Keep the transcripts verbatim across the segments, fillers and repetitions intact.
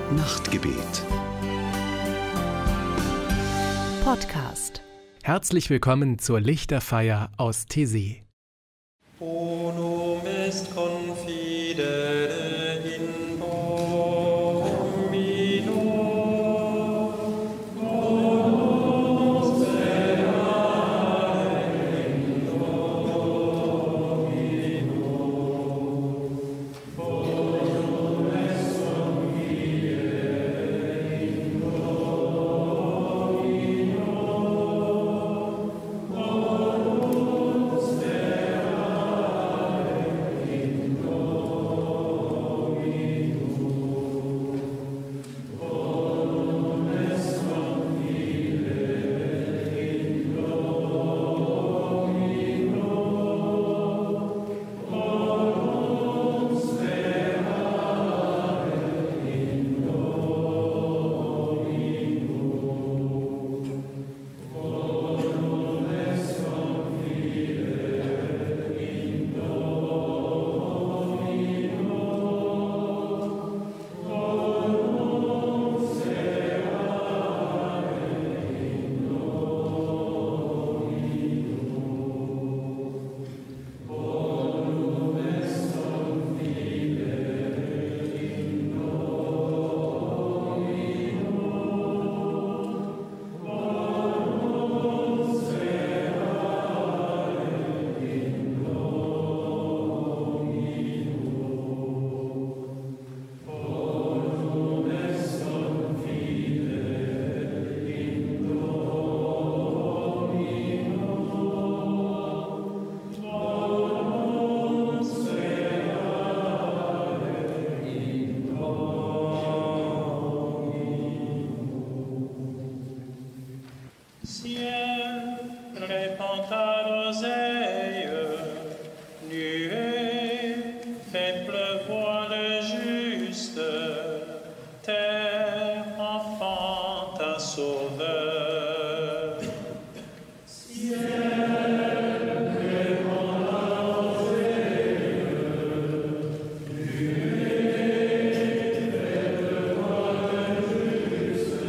Nachtgebet. Podcast. Herzlich willkommen zur Lichterfeier aus Taizé. Bonum est confidere in Domino, bonus sperare in Domino, bonum est confidere in Domino, bonus sperare in Ciel, répand ta roseille, nuée, fait pleuvoir le juste, terre, enfant, ta sauveur. Ciel, répand ta roseille, nuée, fait pleuvoir le juste,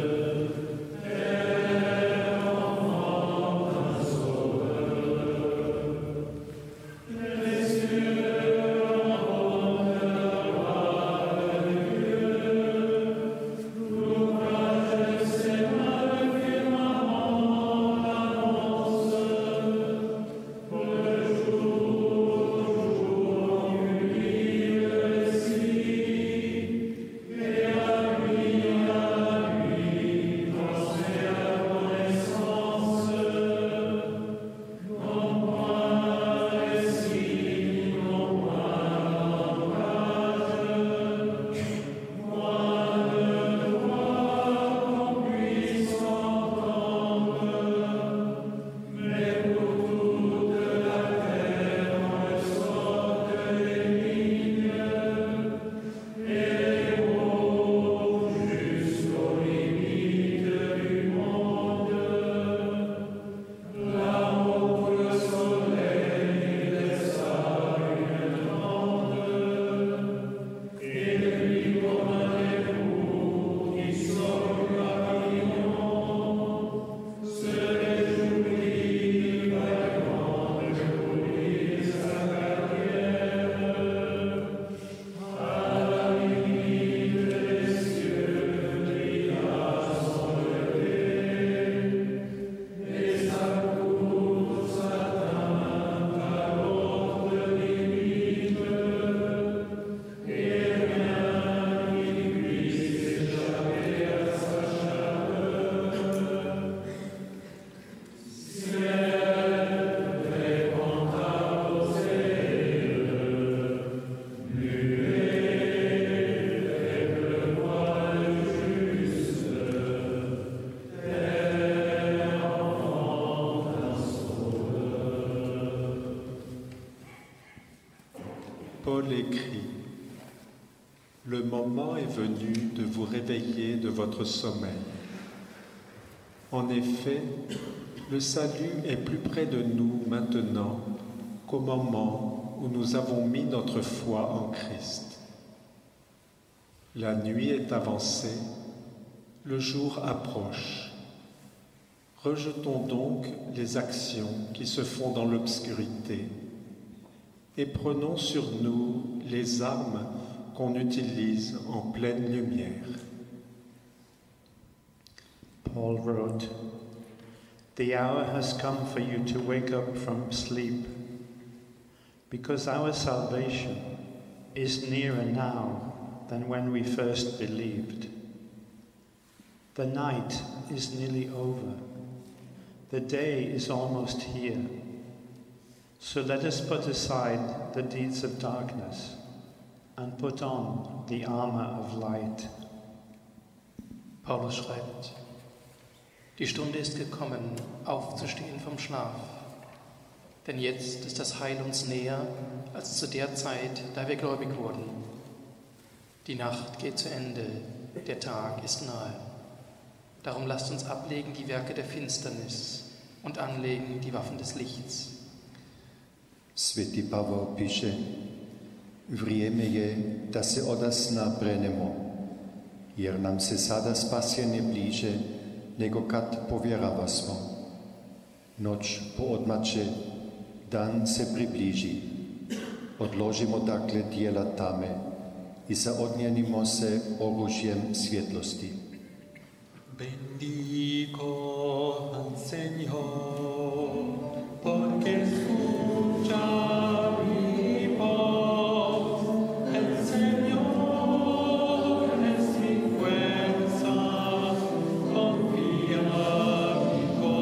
Paul écrit : Le moment est venu de vous réveiller de votre sommeil. En effet, le salut est plus près de nous maintenant qu'au moment où nous avons mis notre foi en Christ. La nuit est avancée, le jour approche. Rejetons donc les actions qui se font dans l'obscurité et prenons sur nous les armes qu'on utilise en pleine lumière. Paul wrote, "The hour has come for you to wake up from sleep, because our salvation is nearer now than when we first believed. The night is nearly over. The day is almost here. So let us put aside the deeds of darkness and put on the armor of light." Paulus schreibt, die Stunde ist gekommen, aufzustehen vom Schlaf. Denn jetzt ist das Heil uns näher als zu der Zeit, da wir gläubig wurden. Die Nacht geht zu Ende, der Tag ist nahe. Darum lasst uns ablegen die Werke der Finsternis und anlegen die Waffen des Lichts. Svätý Pavol píše, vrijeme je da se odasna prenemo, jer nam se sada spasjenje bliže nego kad povjerava smo. Noć poodmače, dan se približi. Odložimo dakle dijela tame i zaodnjenimo se oružjem svjetlosti. Bendigo al Señor, porque escucha mi voz. El Señor es mi fuerza, confía mi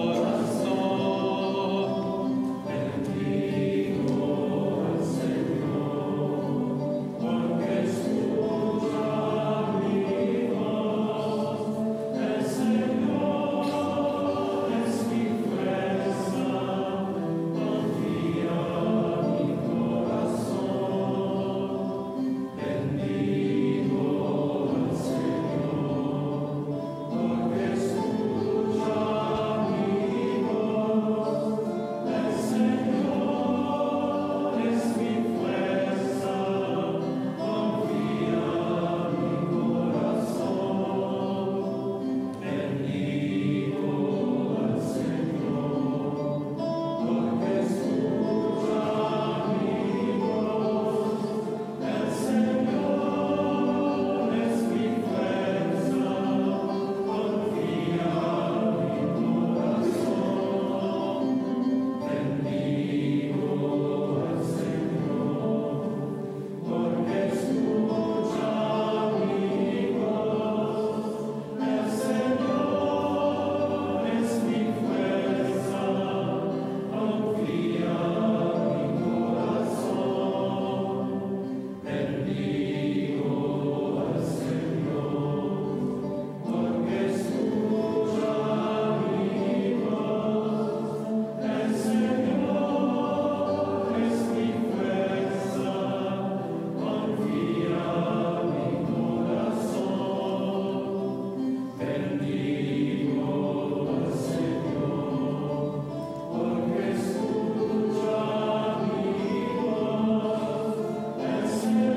corazón. Bendigo al Señor, porque escucha mi voz. El Señor es mi fuerza, confía mi corazón. Bendigo al Señor, porque escucha mi voz. El Señor es mi fuerza, confía mi corazón. Bendigo al Señor, porque escucha mi voz. El Señor es mi fuerza, confía mi corazón. Bendigo al Señor, porque escucha mi voz. El Señor es mi fuerza, confía mi corazón. Bendigo al Señor, porque escucha mi voz. El Señor es mi fuerza, confía mi corazón. Bendigo al Señor, porque escucha mi voz. El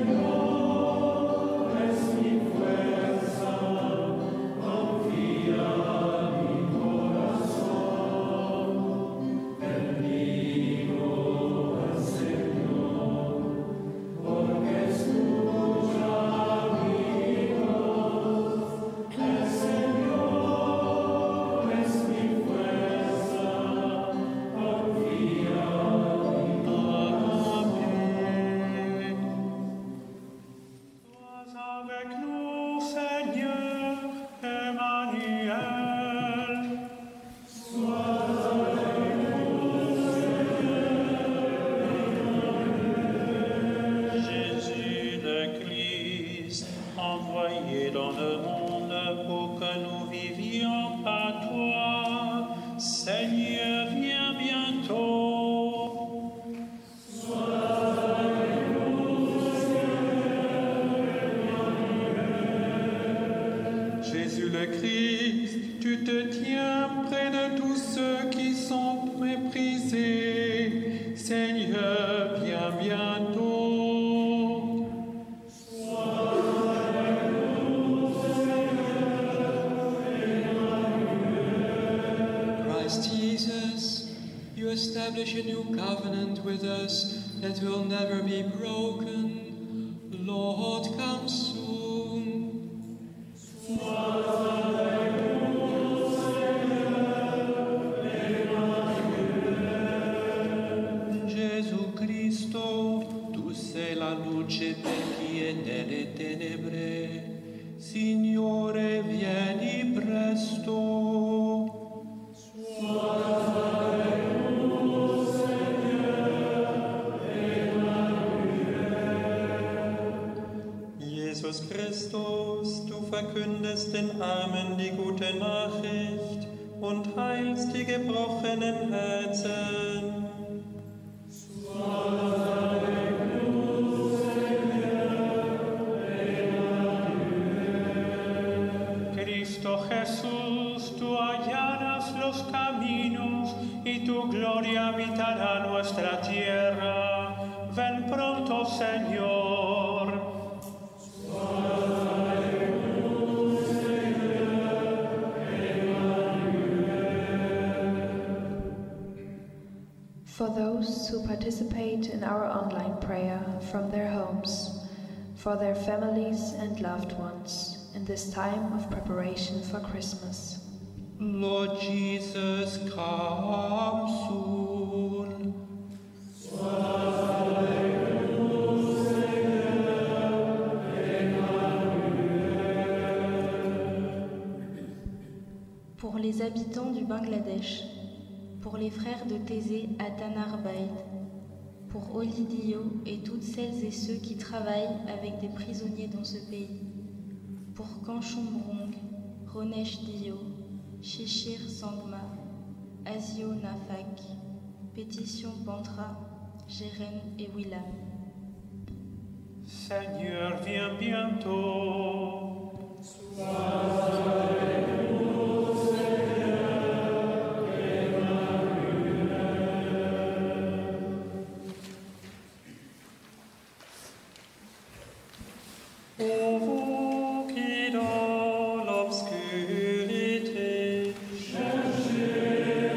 Señor es mi fuerza, confía mi corazón. Bendigo al Señor, porque escucha mi voz. El Señor es mi fuerza, confía mi corazón. Sois avec nous, Seigneur Emmanuel. Sois avec nous, Seigneur. Jésus le Christ, envoyé dans le monde pour que nous vivions par toi. Seigneur, viens bientôt. Jésus le Christ, tu te tiens près de tous ceux qui sont méprisés. Seigneur, viens bientôt. Sois avec nous, establish a new covenant with us that will never be broken. Lord, come soon. Gesù Cristo, tu sei la luce per chi è nelle tenebre. Signore, vieni presto. Jesus Christus, du verkündest den Armen die gute Nachricht und heilst die gebrochenen Herzen. Cristo Jesús, tú allanas los caminos y tu gloria habitará nuestra tierra. Ven pronto, Señor. For those who participate in our online prayer from their homes, for their families and loved ones in this time of preparation for Christmas. Lord Jesus, come soon. Pour les habitants du Bangladesh, pour les frères de Thésée à Tanarbaïd, pour Oli Dio et toutes celles et ceux qui travaillent avec des prisonniers dans ce pays, pour Kanchumbrong, Ronesh Dio, Shishir Sangma, Asio Nafak, Pétition Pantra, Jeren et Willam. Seigneur, viens bientôt. Ô vous qui dans l'obscurité cherchez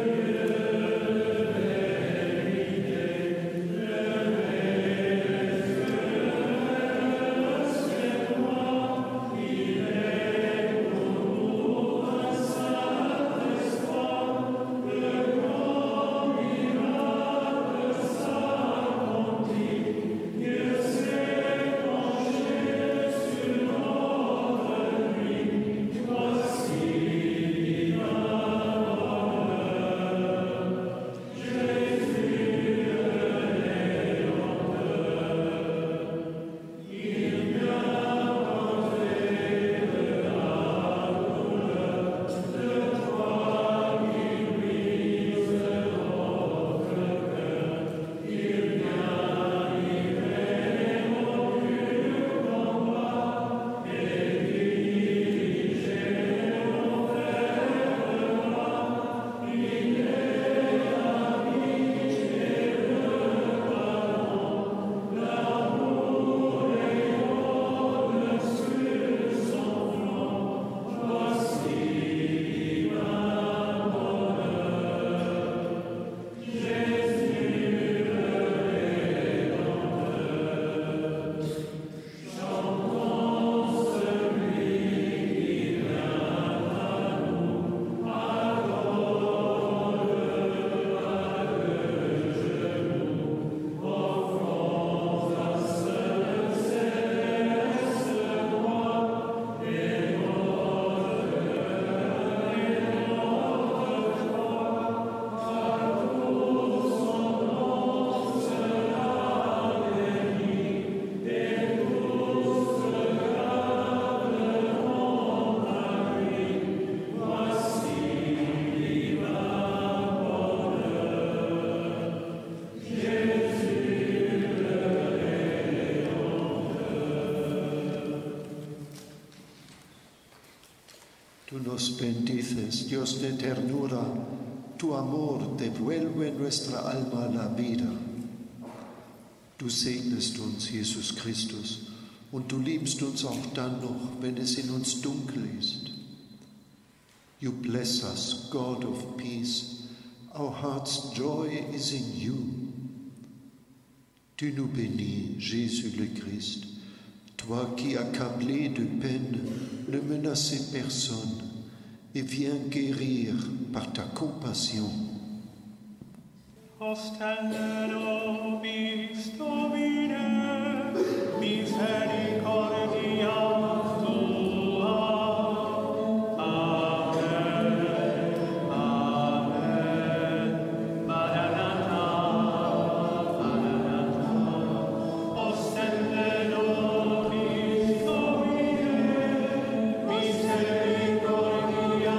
Tú nos bendices, Dios de ternura, tu amor devuelve nuestra alma la vida. Du segnest uns, Jesus Christus, und du liebst uns auch dann noch, wenn es in uns dunkel ist. You bless us, God of peace, Our heart's joy is in you. Tu nous bénis, Jésus le Christ, toi qui, accablé de peine, ne menaçais personne et viens guérir par ta compassion. Ostende nobis Domine, misericordia tua. Amen, amen, Maranatha, Maranatha. Ostende nobis Domine, misericordia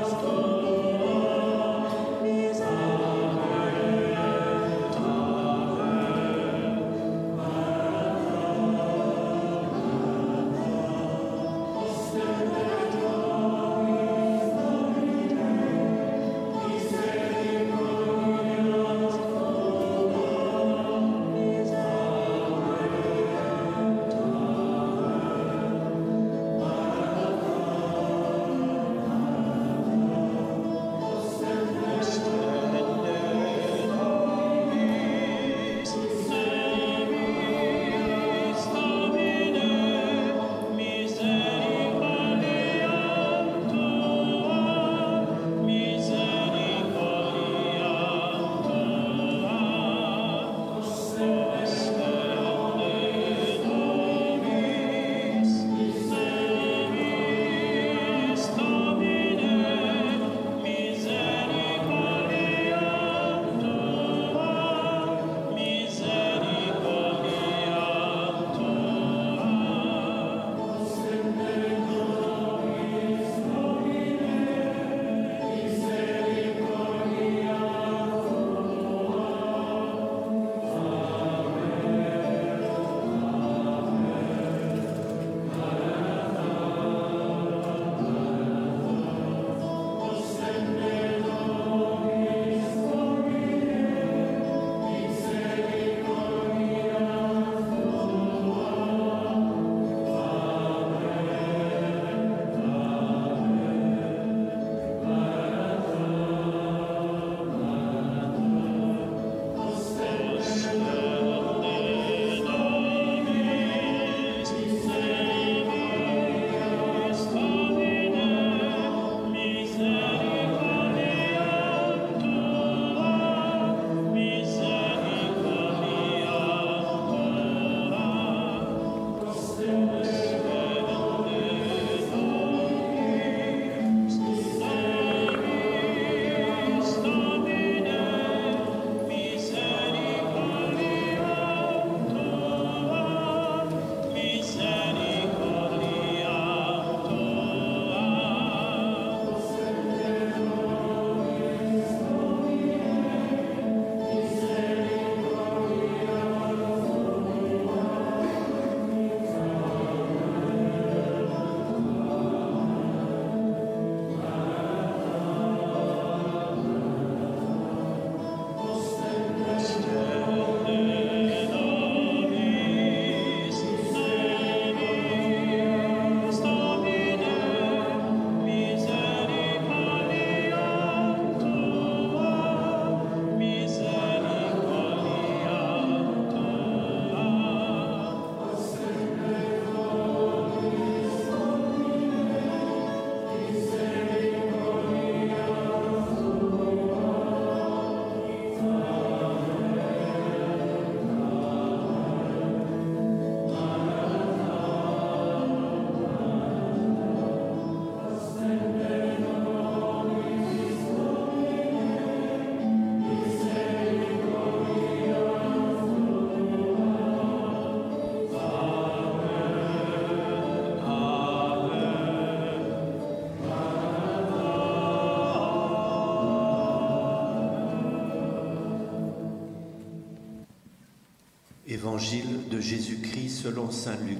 Évangile de Jésus-Christ selon saint Luc.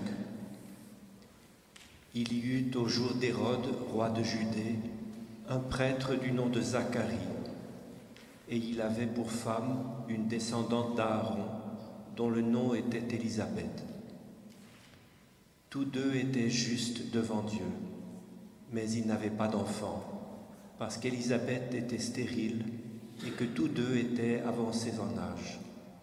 Il y eut au jour d'Hérode, roi de Judée, un prêtre du nom de Zacharie, et il avait pour femme une descendante d'Aaron, dont le nom était Élisabeth. Tous deux étaient justes devant Dieu, mais ils n'avaient pas d'enfant, parce qu'Élisabeth était stérile et que tous deux étaient avancés en âge.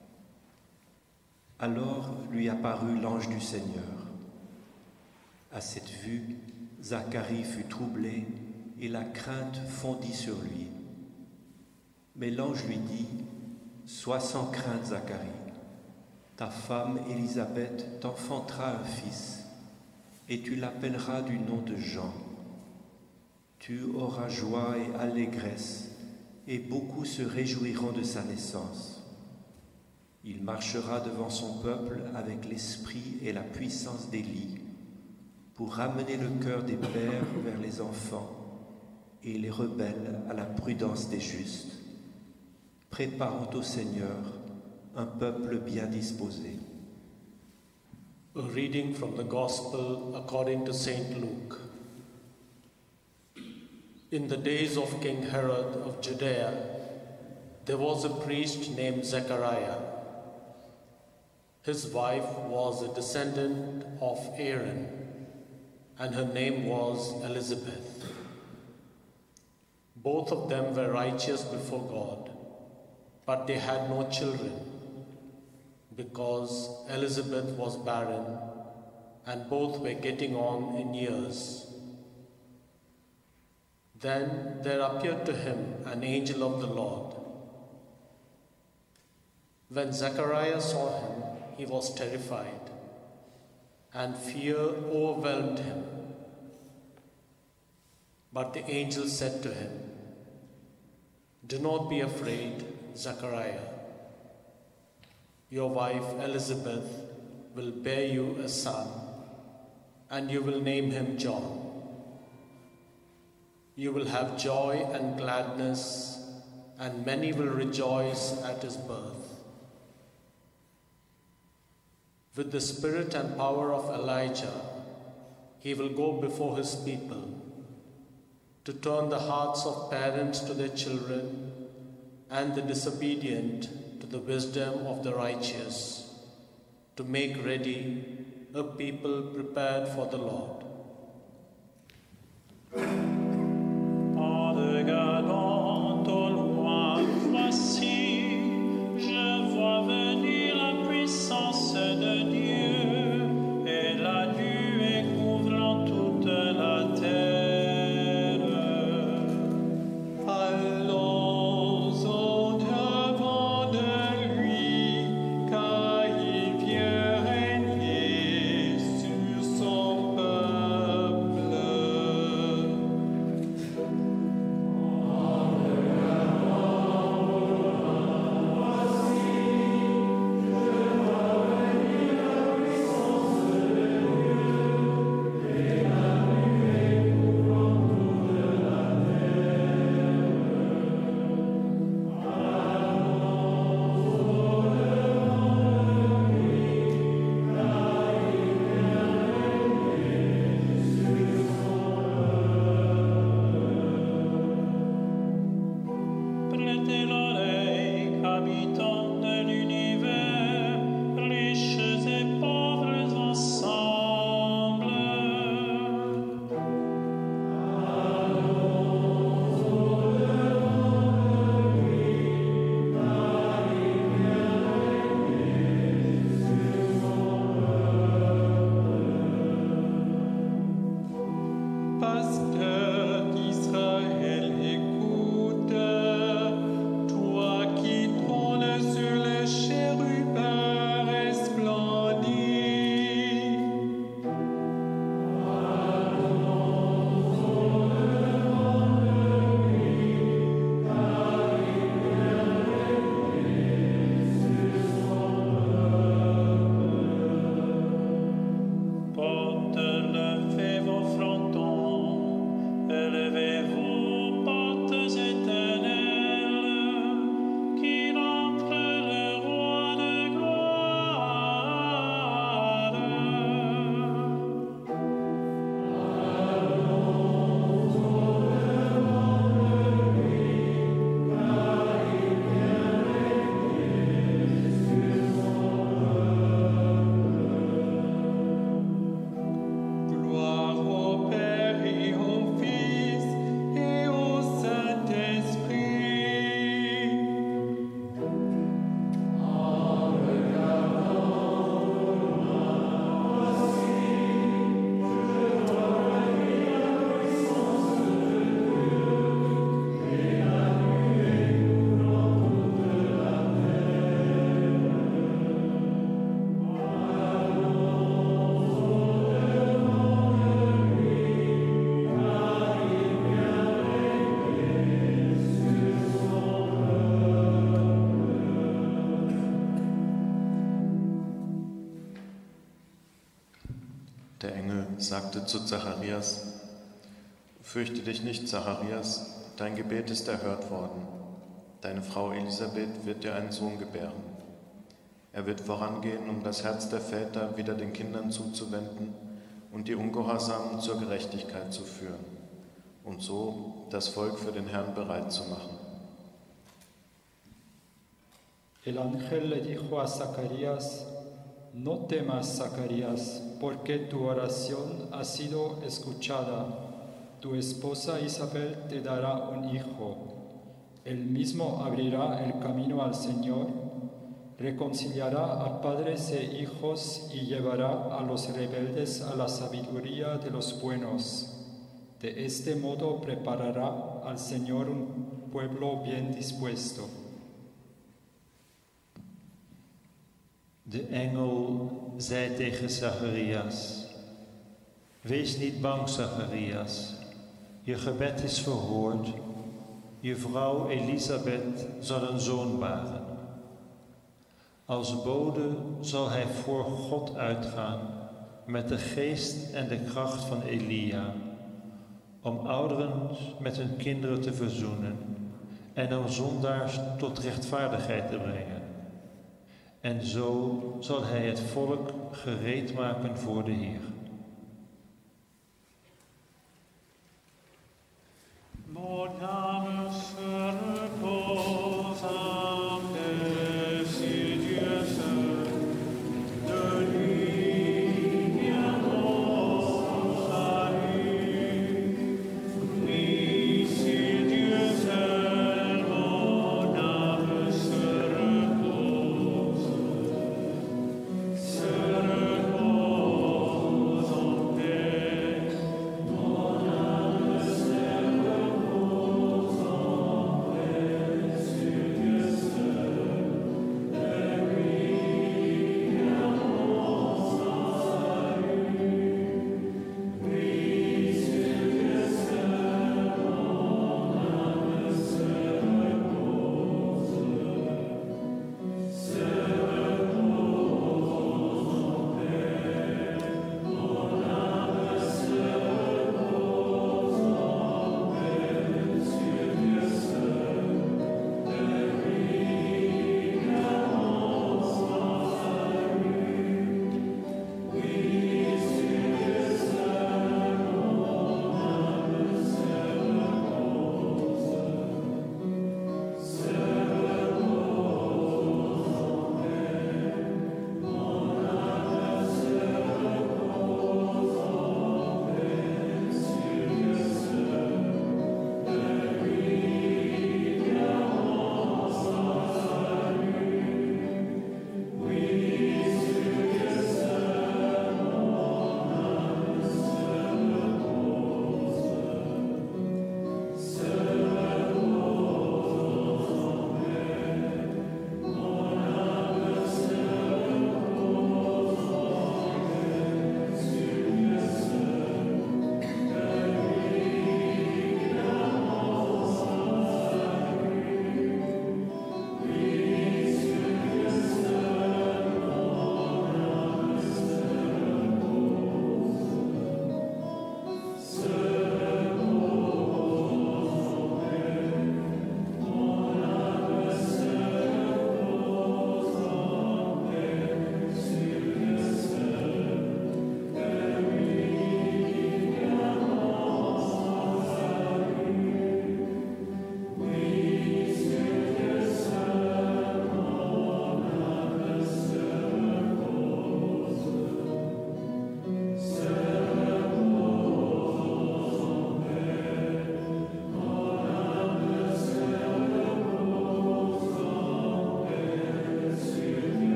Alors lui apparut l'ange du Seigneur. À cette vue, Zacharie fut troublé et la crainte fondit sur lui. Mais l'ange lui dit, « Sois sans crainte, Zacharie. Ta femme Élisabeth t'enfantera un fils, et tu l'appelleras du nom de Jean. Tu auras joie et allégresse, et beaucoup se réjouiront de sa naissance. Il marchera devant son peuple avec l'esprit et la puissance d'Élie, pour ramener le cœur des pères vers les enfants et les rebelles à la prudence des justes, préparant au Seigneur un peuple bien disposé. » A reading from the Gospel according to Saint Luke. In the days of King Herod of Judea, there was a priest named Zechariah. His wife was a descendant of Aaron, and her name was Elizabeth. Both of them were righteous before God, but they had no children, because Elizabeth was barren, and both were getting on in years. Then there appeared to him an angel of the Lord. When Zechariah saw him, he was terrified, and fear overwhelmed him. But the angel said to him, "Do not be afraid, Zechariah. Your wife Elizabeth will bear you a son, and you will name him John. You will have joy and gladness, and many will rejoice at his birth. With the spirit and power of Elijah, he will go before his people to turn the hearts of parents to their children and the disobedient to the wisdom of the righteous, to make ready a people prepared for the Lord." En regardant au loin, voici, je vois venir la puissance de Dieu, et la nuée couvrant toute la terre. Allons au-devant de lui, car il vient régner sur son peuple. Der Engel sagte zu Zacharias: Fürchte dich nicht, Zacharias, dein Gebet ist erhört worden. Deine Frau Elisabeth wird dir einen Sohn gebären. Er wird vorangehen, um das Herz der Väter wieder den Kindern zuzuwenden und die Ungehorsamen zur Gerechtigkeit zu führen und so das Volk für den Herrn bereit zu machen. El ángel le dijo a Zacarías: No temas, Zacarías, porque tu oración ha sido escuchada. Tu esposa Isabel te dará un hijo. Él mismo abrirá el camino al Señor, reconciliará a padres e hijos y llevará a los rebeldes a la sabiduría de los buenos. De este modo preparará al Señor un pueblo bien dispuesto. De engel zei tegen Zacharias: Wees niet bang, Zacharias. Je gebed is verhoord. Je vrouw Elisabeth zal een zoon baren. Als bode zal hij voor God uitgaan met de geest en de kracht van Elia, om ouderen met hun kinderen te verzoenen en om zondaars tot rechtvaardigheid te brengen. En zo zal hij het volk gereed maken voor de Heer.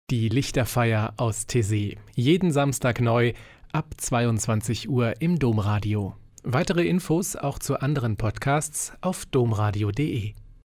Die Lichterfeier aus Taizé. Jeden Samstag neu ab zweiundzwanzig Uhr im Domradio. Weitere Infos auch zu anderen Podcasts auf domradio punkt de.